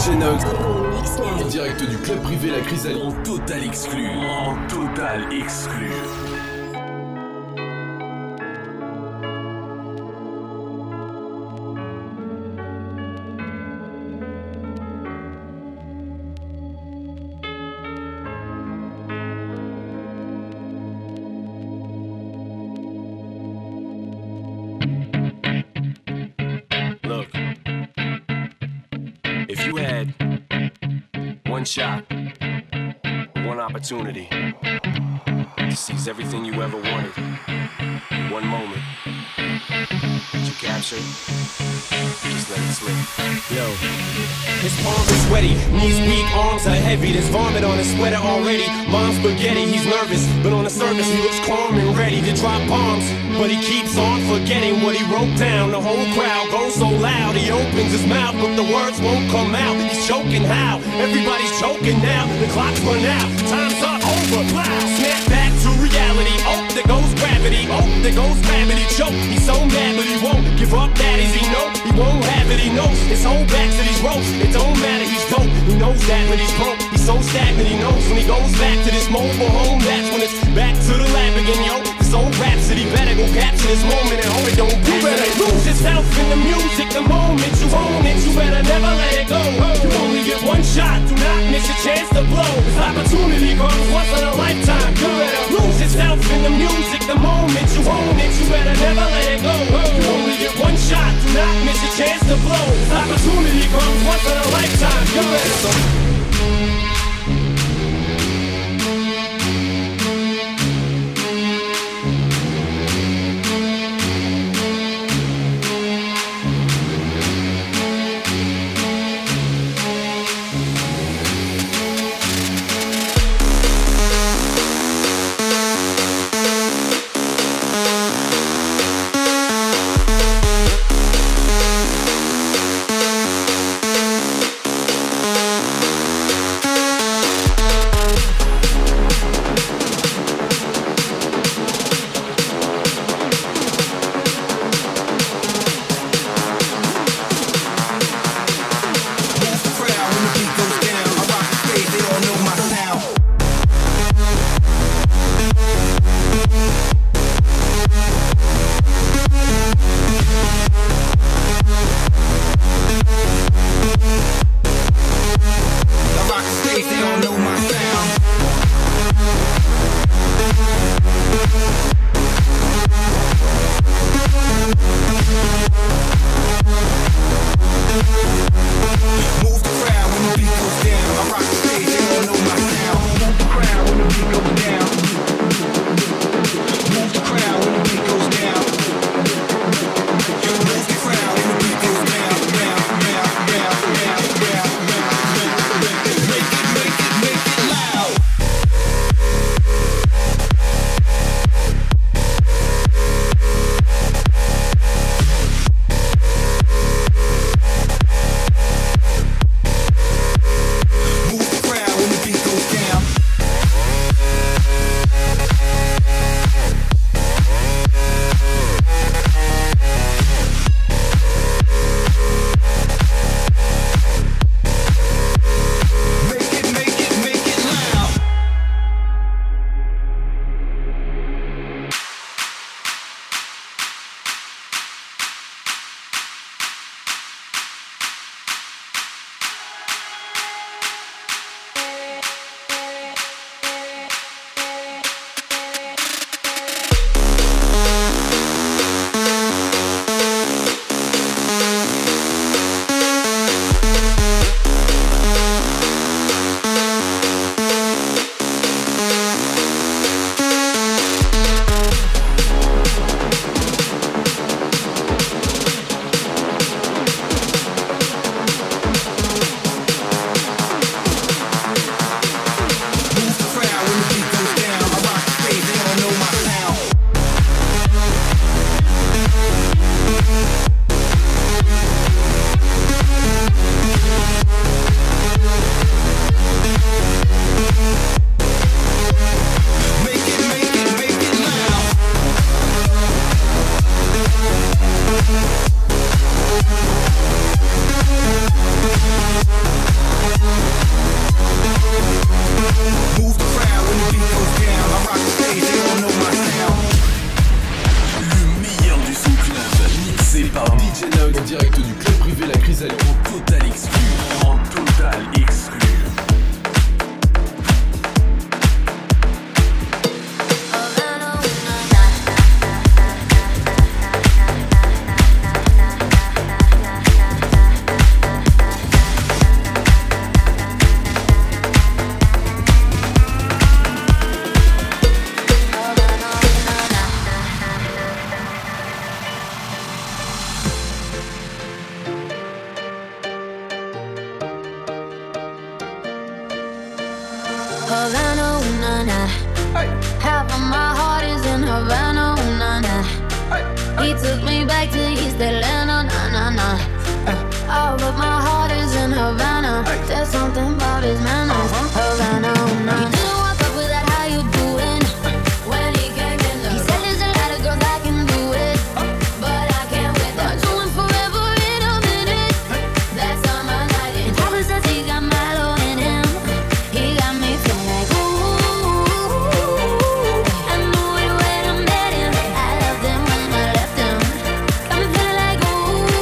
DJ Nox. En direct du club privé La Chrysalide. En total exclu. En total exclu. Look, if you had one shot, one opportunity to seize everything you ever wanted, one moment, did you capture it? Just let it slip. Yo, his palms are sweaty, knees weak, arms are heavy. There's vomit on his sweater already. Mom's spaghetti, he's nervous, but on the surface he looks calm and ready to drop bombs. But he keeps on forgetting what he wrote down. The whole crowd goes so loud, he opens his mouth, but the words won't come out. He's choking how? Everybody's choking now. The clock's run out, time's up, over, loud. Snap back to reality. Oh, there goes gravity. Oh, there goes gravity. Choke. He's so mad, but he won't give up. That is, he know he won't have it. He knows his whole back to these ropes. It don't matter, he's dope. He knows that, but he's broke. He's so stagnant. He knows when he goes back to this mobile home. That's when it's back to the lab again, yo. This old rhapsody better go capture this moment and hope it don't pass. You better lose yourself in the music. The moment you own it, you better never let it go. You only get one shot. Do not miss your chance to blow. This opportunity comes once in a lifetime. You better lose yourself in the music. The moment you own it, you better never let it go. You only get one shot. Do not miss your chance to blow. This opportunity comes once in a lifetime. You better. Chrysalide en total exclu. En total exclu. Havana, ooh, na, na. Half of my heart is in Havana, ooh, na, na. He took me back to East Atlanta, na, na, na. All of my heart is in Havana. There's something about his manners. Havana, ooh, na. He didn't walk up with that, how you doing? When he came in the he said there's a lot of girls that can do it, but I can't with them. Doing forever in a minute. That summer night in Papa says he got Milo in him. He got me feeling like ooh. I knew it when I met him. I loved him when I left him. Got me feeling like ooh.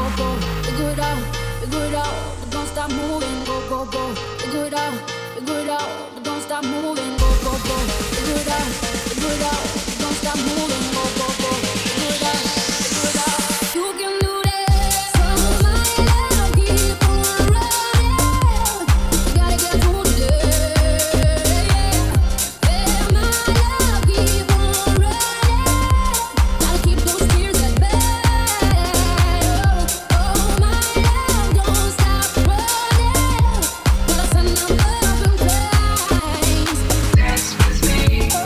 go. Figure it out, figure it out, but don't stop moving. Go, go, go. Figure it out, but don't stop moving. Go, go, go. Figure it out, but don't stop moving. Go, go, go. Figure it out, figure it out. You can do this. So my love, keep on running. You gotta get through today. Yeah, my love, keep on running. Gotta keep those tears at bay. Oh, my love, don't stop running. Gotta send them love and flames. Dance with me.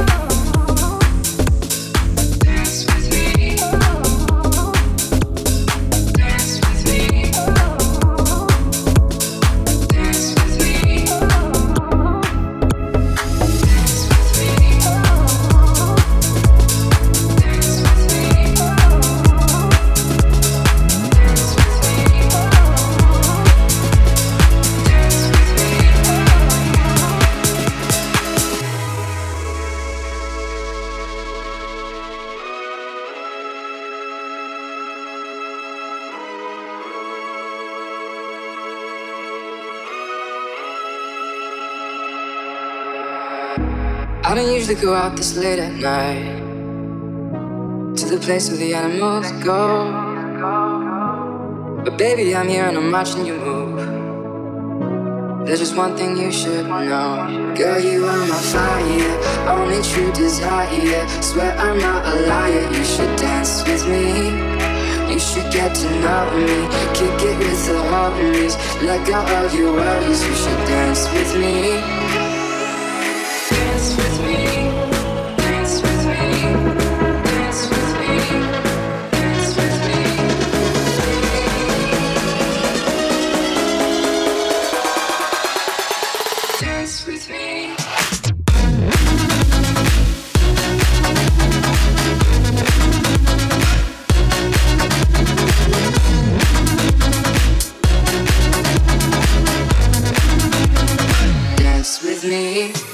Dance with me. Dance with me. Dance with me. Dance with me. I don't usually go out this late at night to the place where the animals go. But baby, I'm here and I'm watching you move. There's just one thing you should know. Girl, you are my fire, only true desire. Swear I'm not a liar, you should dance with me. You should get to know me, kick it with the homies. Let go of your worries, you should dance with me. Dance with me, dance with me, dance with me, dance with me. Dance with me. Dance with me.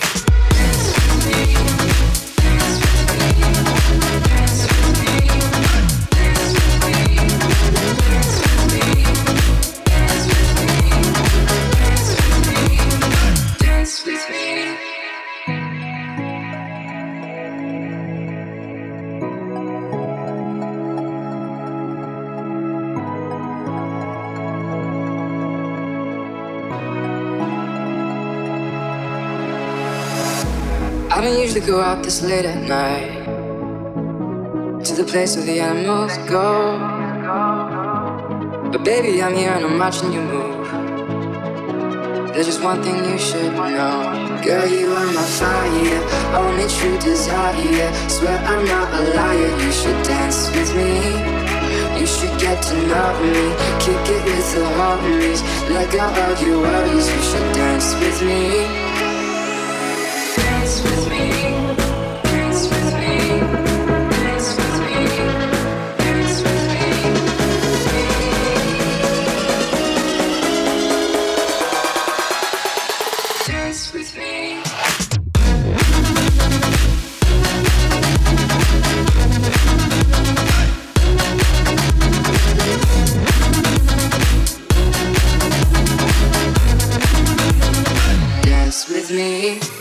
I don't usually go out this late at night to the place where the animals go. But baby, I'm here and I'm watching you move. There's just one thing you should know. Girl, you are my fire, only true desire. Swear I'm not a liar, you should dance with me. You should get to know me, kick it with the homies. Let go of your worries, you should dance with me. Dance with me, dance with me, dance with me, dance with me. Dance with me. Dance with me.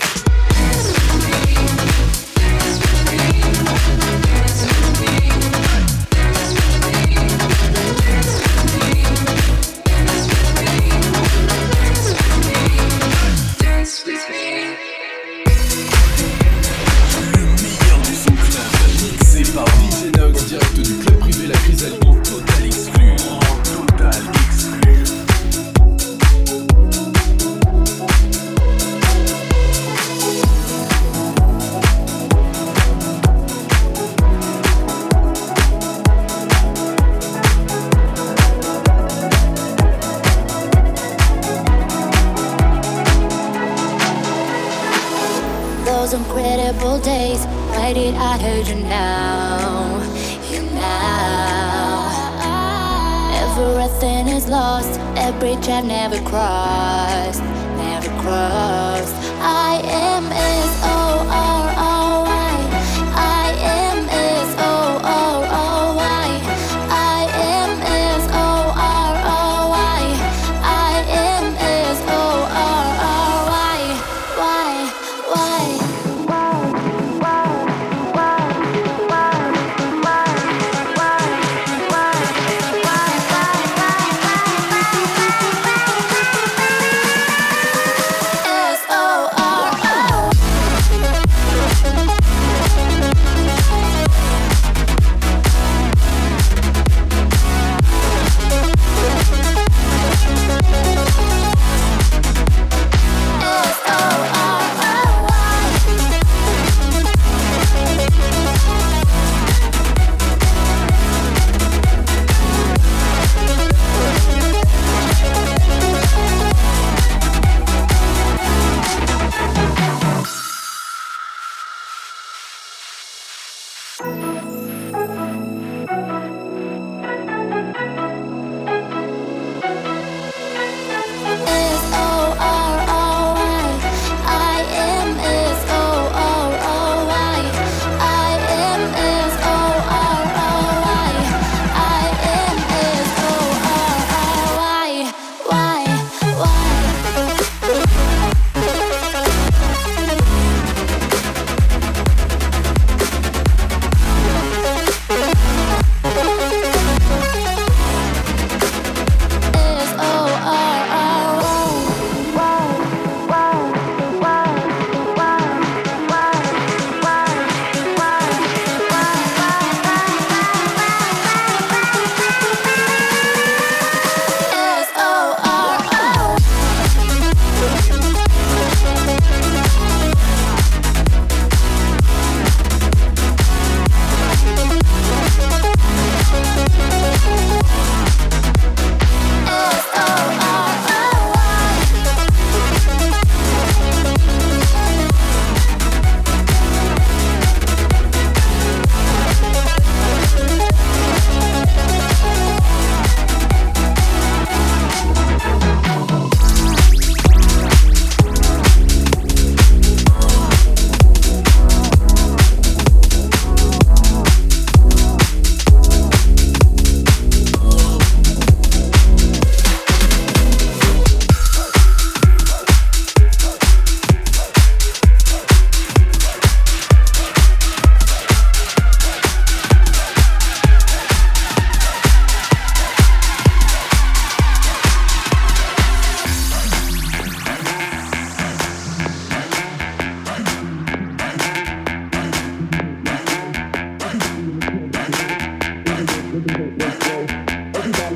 Those incredible days, why did I hurt you now? You now. Everything is lost, a bridge I've never crossed, never crossed. I am S-O-R-R-Y. I am S-O-R-R-Y. I am S-O-R-R-Y.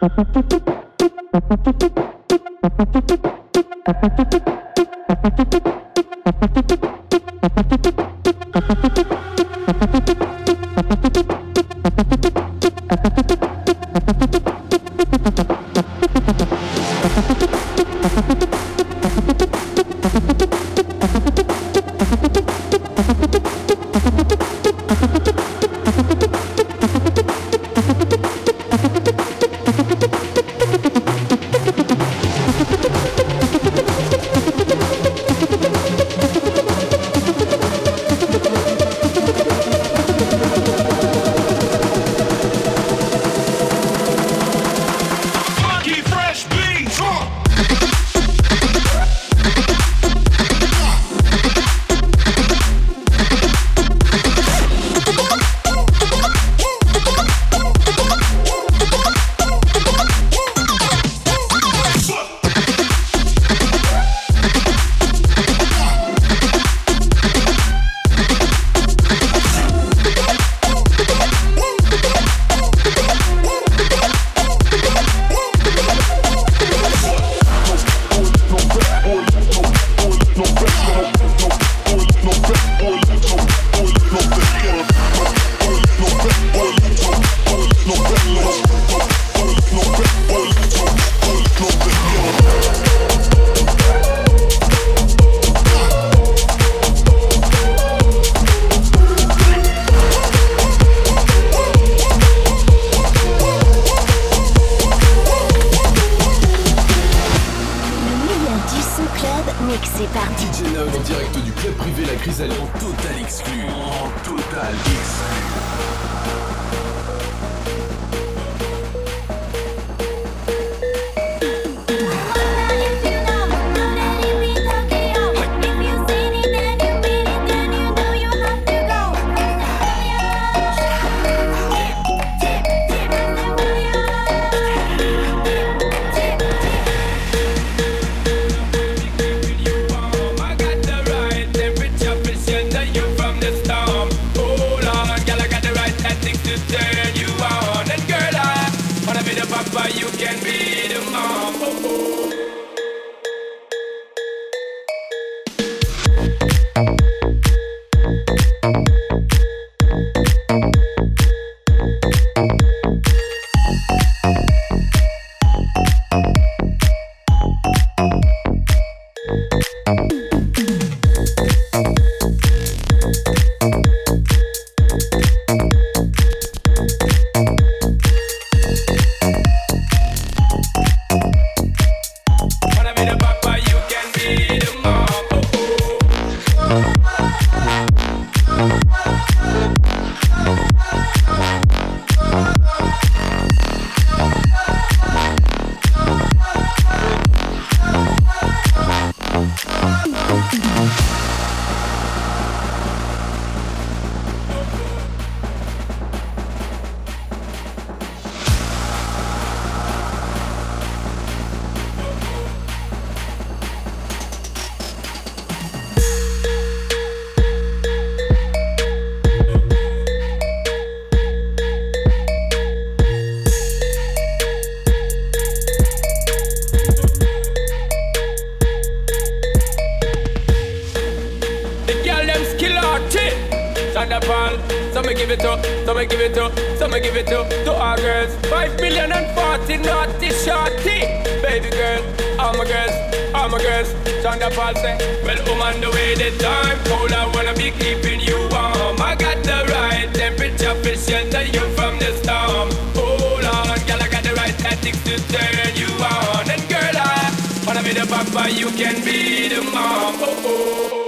Some give it to, some give it to, some give it to our girls. 5 million and 40 naughty shorty. Baby girl, all my girls, Chanda Paul say, well, on the way the time cold, I wanna be keeping you warm. I got the right temperature to shelter you from the storm. Hold on, girl, I got the right tactics to turn you on. And girl, I wanna be the papa, you can be the mom. Oh, oh, oh.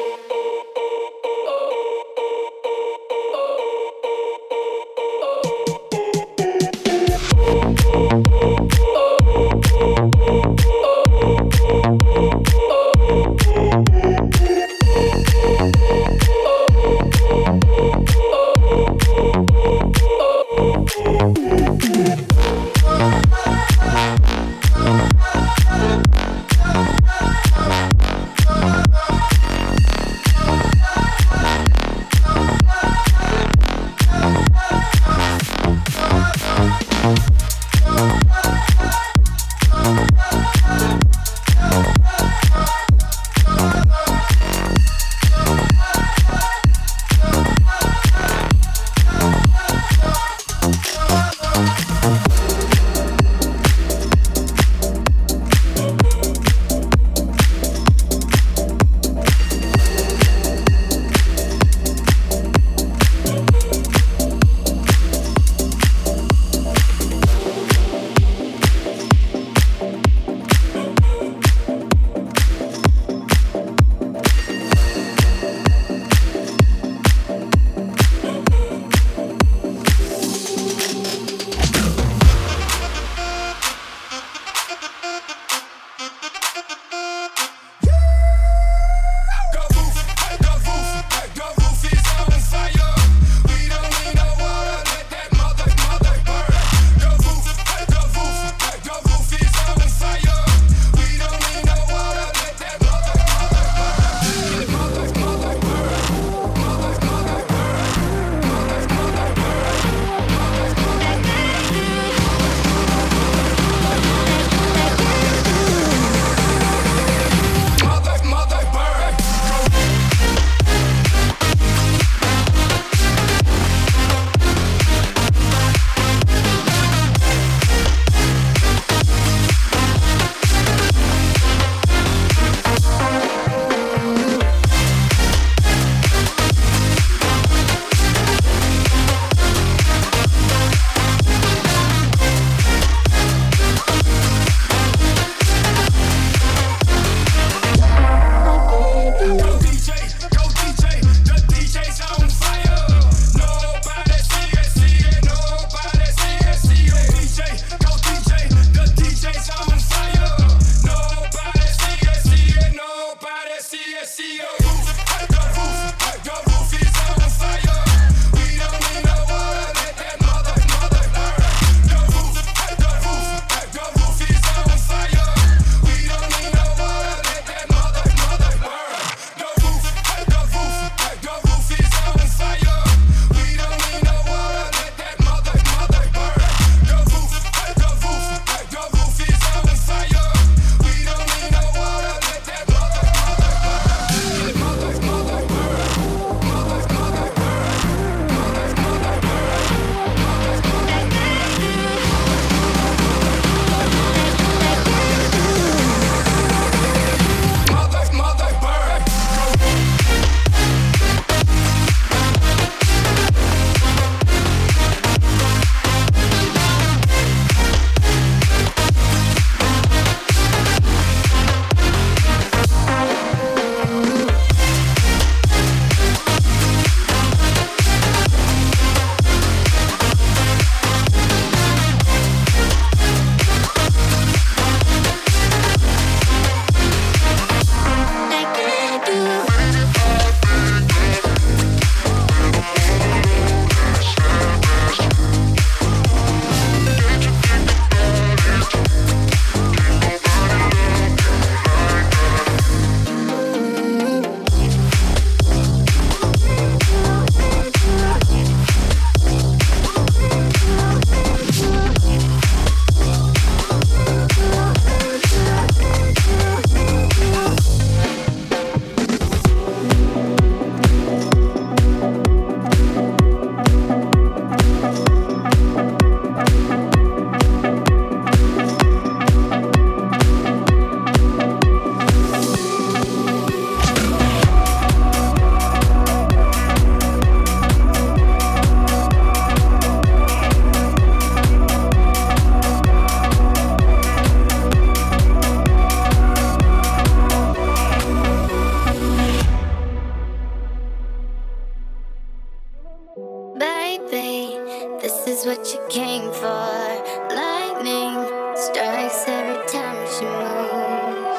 This is what you came for. Lightning strikes every time she moves,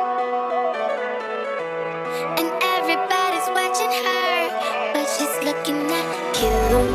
and everybody's watching her, but she's looking at you.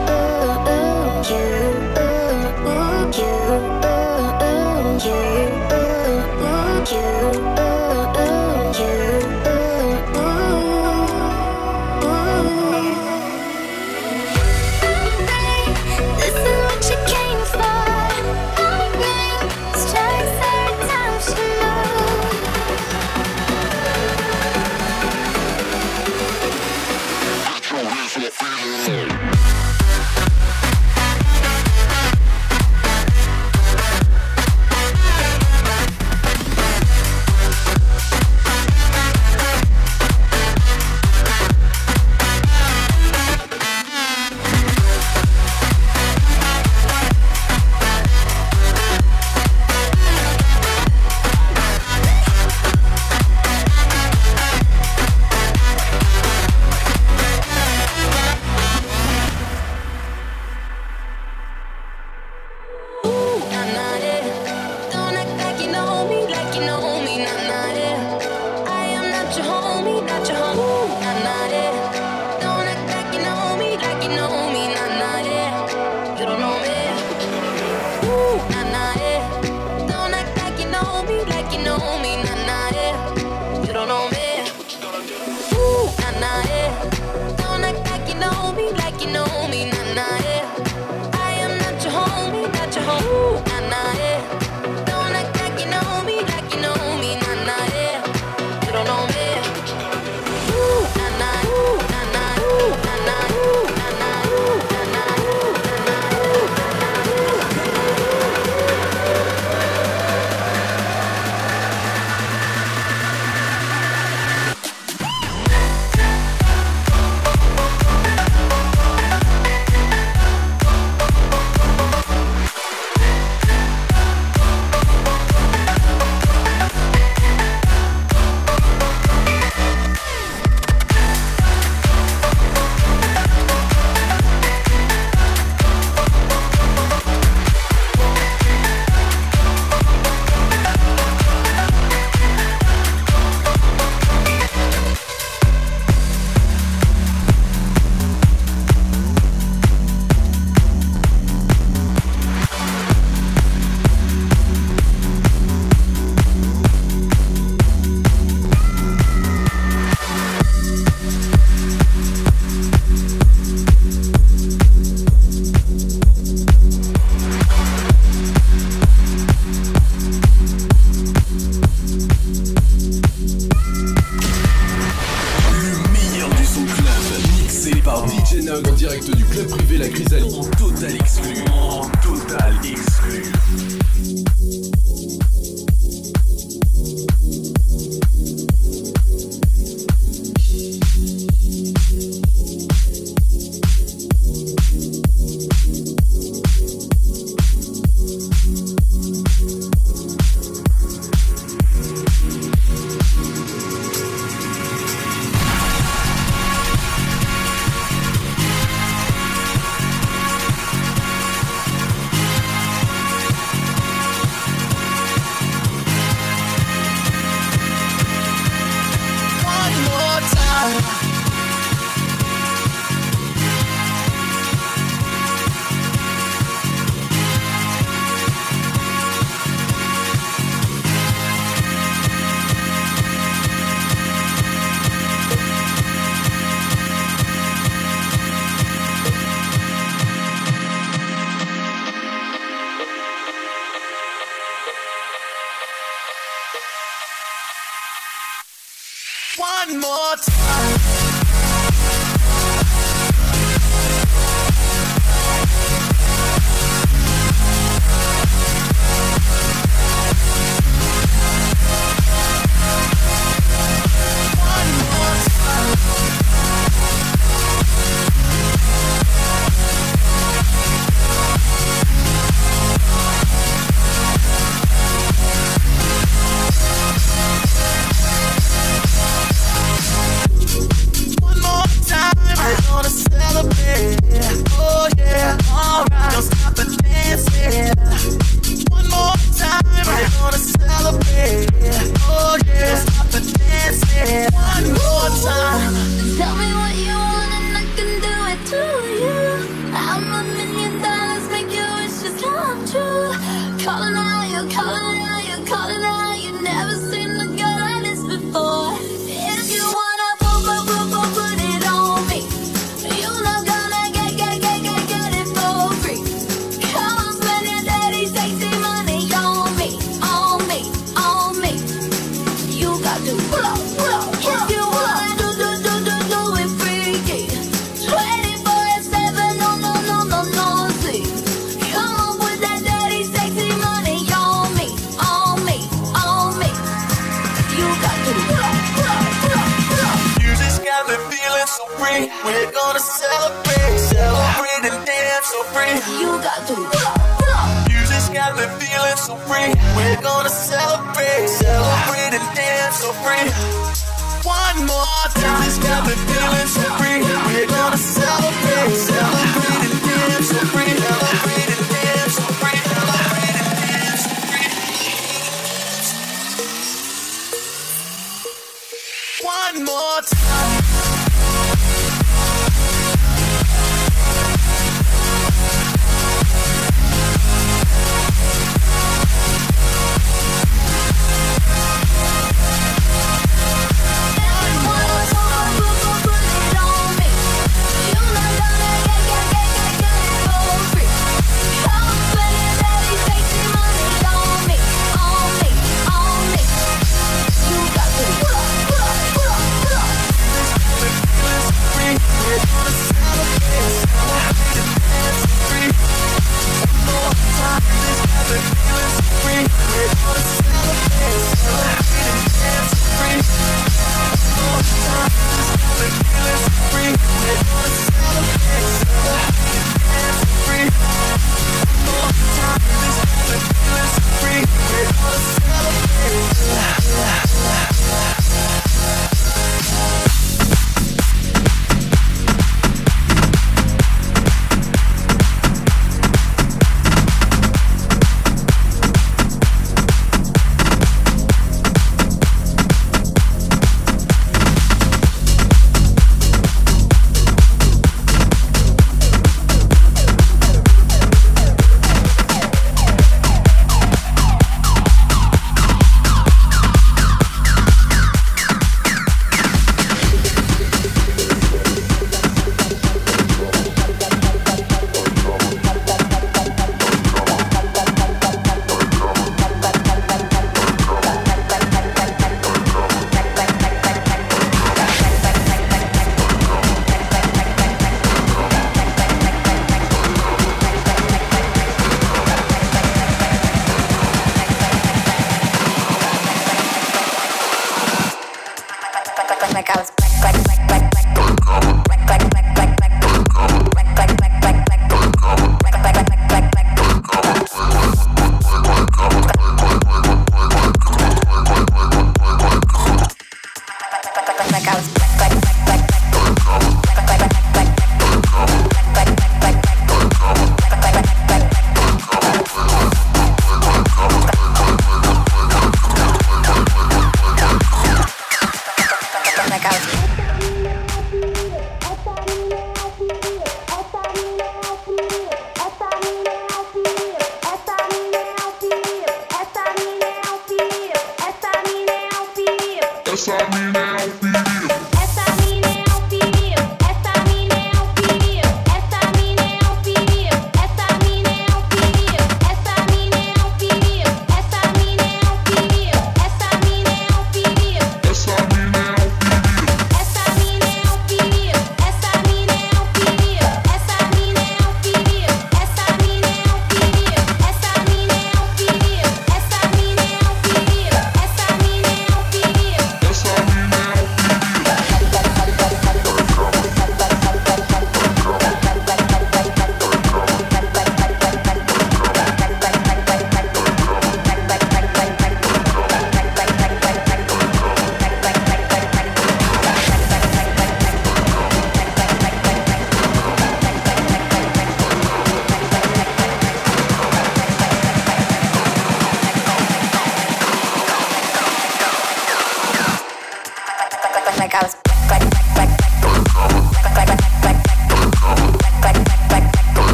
En direct du club privé La Chrysalide. En total exclu. En total exclu. We're gonna celebrate, celebrate and dance so free. You got to Music's got me feeling so free. We're gonna celebrate, celebrate and dance so free. One more time, it's got me feeling so free. We're gonna celebrate, celebrate and dance so free. Celebrate and dance so free. Celebrate and dance so free. One more time. put it on.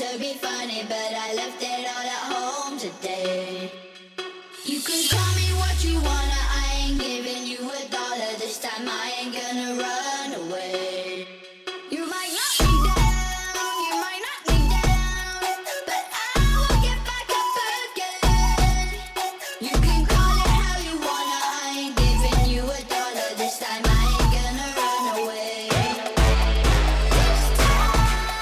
to be funny, but I left it all at home today. You can call me what you wanna, I ain't giving you $1. This time I ain't gonna run away. You might knock me down, you might knock me down, but I will get back up again. You can call it how you wanna, I ain't giving you $1. This time I ain't gonna run away. This time,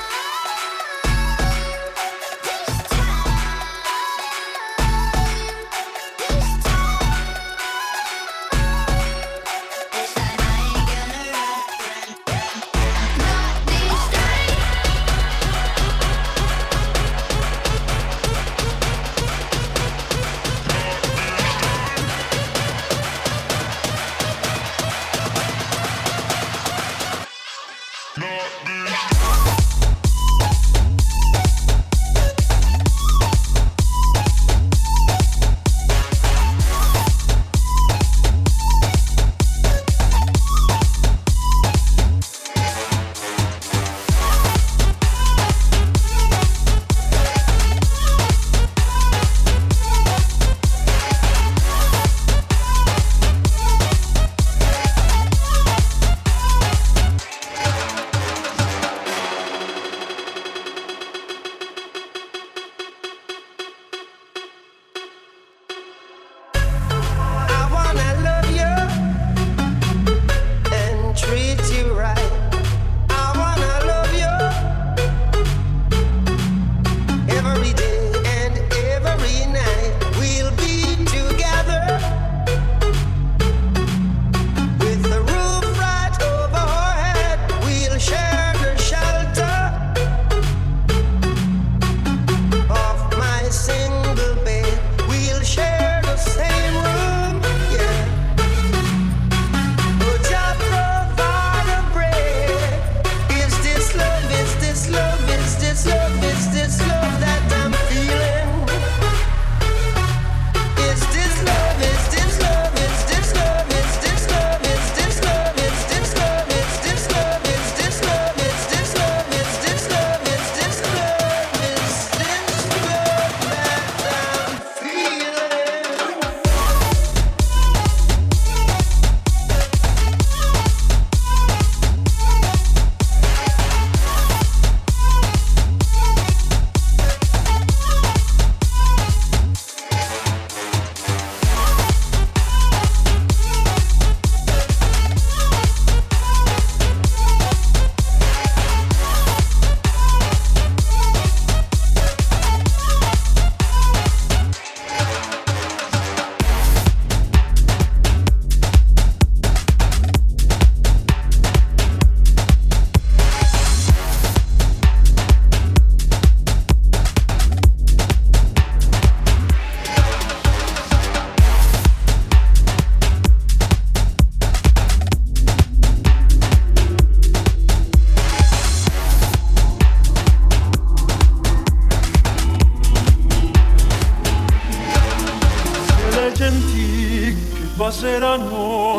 passeranno.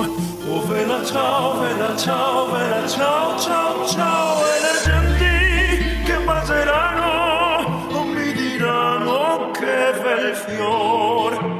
Oh vela ciao, vela ciao, vela ciao, ciao, ciao. E le genti che passeranno non mi diranno che bel fior.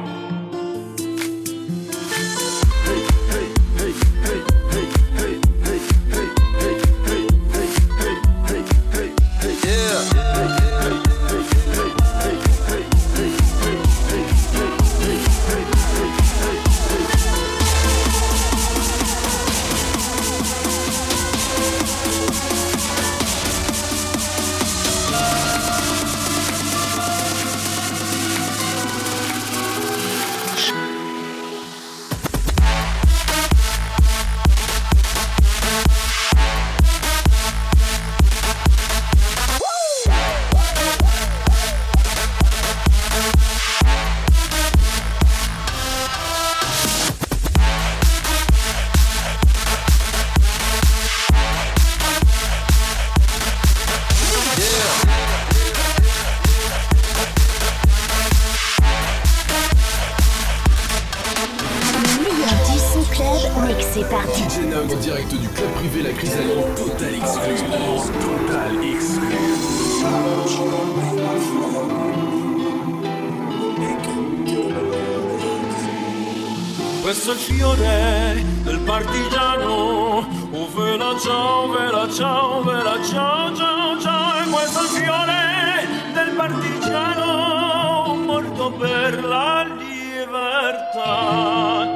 C'est parti. DJ Nug en direct du club privé La Chrysalide. Total exclu. Total exclu. Questo è il fiore del partigiano, oh vela ciao, vela ciao, vela ciao, ciao, ciao. E questo è il fiore del partigiano, morto per la libertà.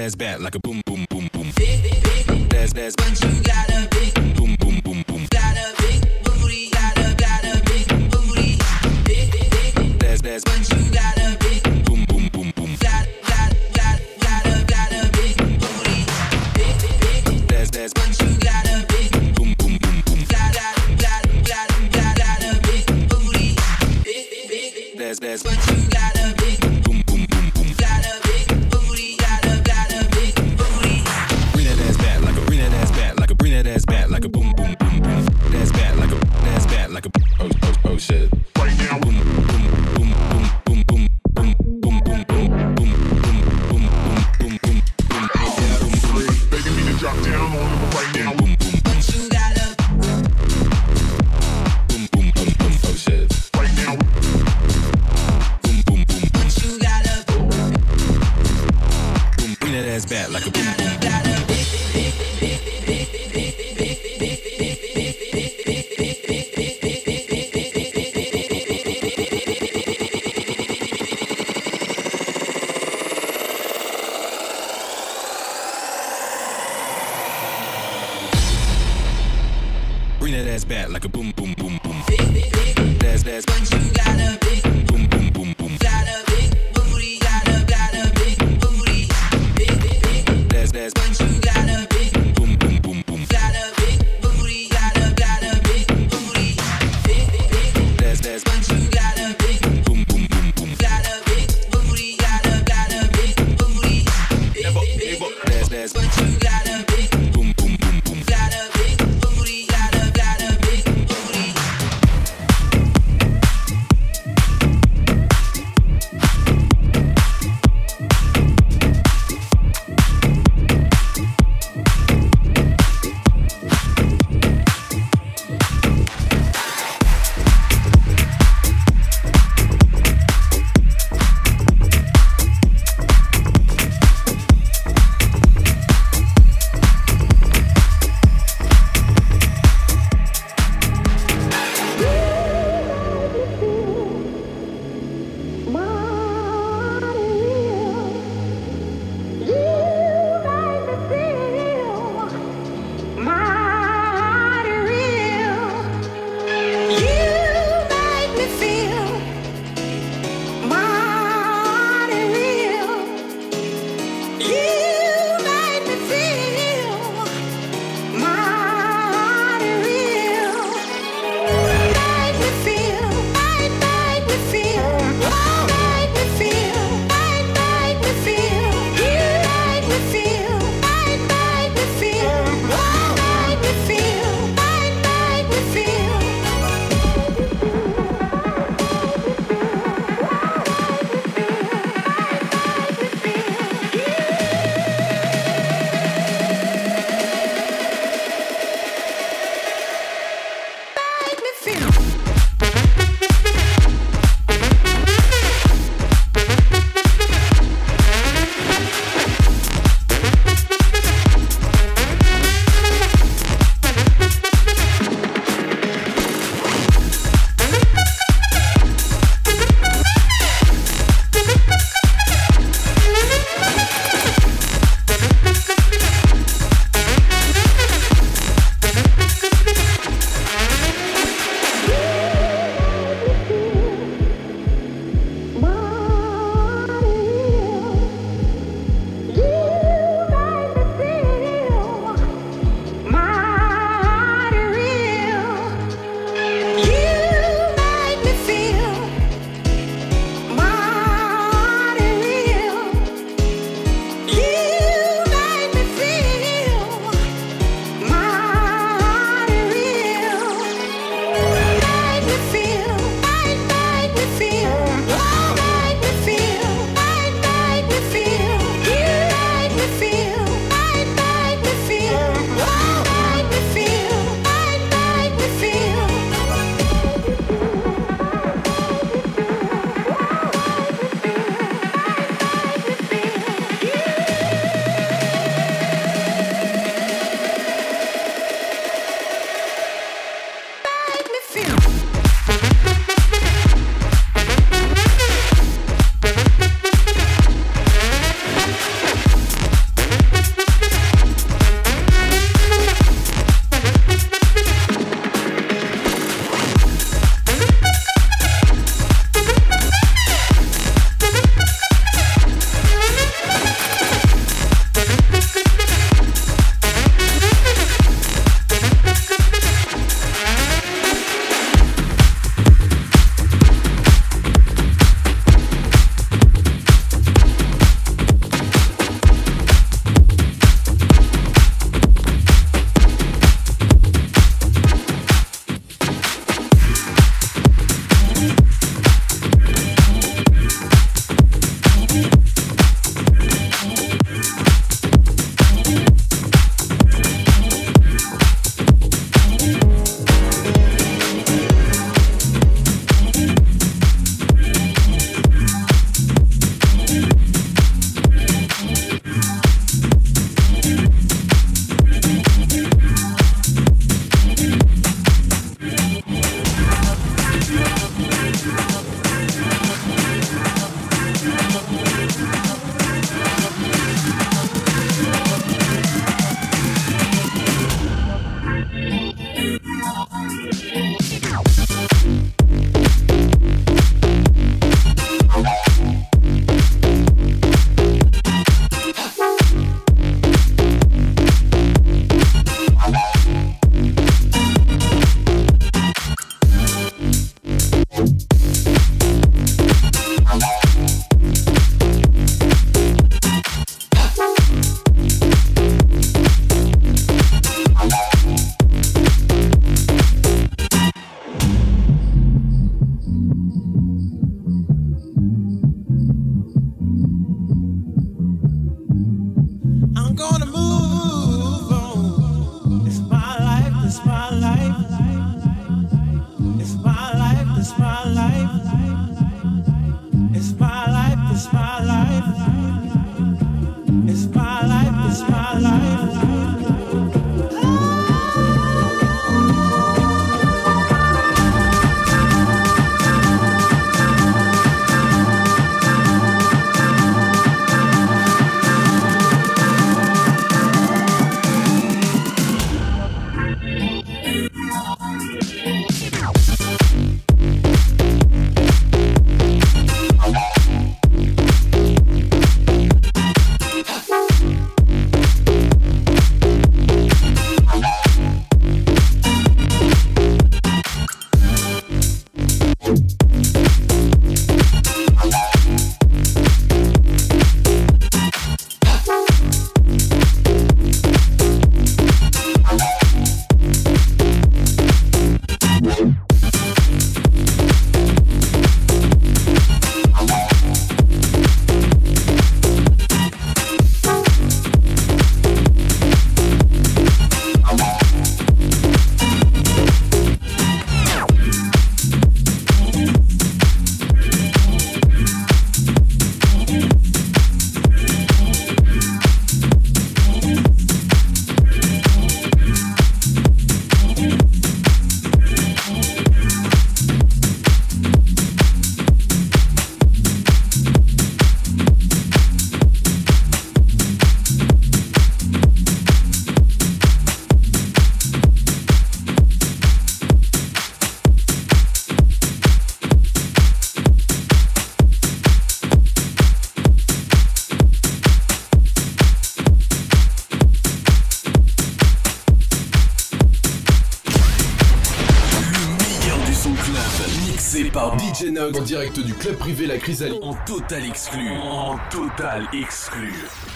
ass back like a boom boom boom boom. That's but you got a big boom boom boom boom. Got a big booty, got a big booty. That's but you got a big boom boom boom boom. Got a big booty. That's but you got a big boom boom boom boom. Got a big booty. That's but you got a big boom boom boom boom. Got a big booty, got a big booty. Bring that ass back like a bring that ass back like a bring that ass back like a boom boom boom boom. That's back like a oh shit. Right now boom boom boom boom boom boom boom boom boom boom boom boom boom boom boom. Begging me to drop down on them right now. Boom boom. But you got a boom boom boom boom oh shit. Right now. Boom boom boom. But you got a boom. Bring that ass back like a boom boom. Bring that ass back like a boom boom boom boom. That's but you got a big boom boom boom boom. Got a big booty, got a big booty. That's but you got a big boom boom boom boom. Got a big booty, got a big booty. That's but you got a big boom boom boom boom. Got a big booty, got a big booty. That's but you got a big boom boom boom boom. Got a big booty, got a big booty. par DJ Nox en direct du club privé La Chrysalide en total exclu. En total exclu.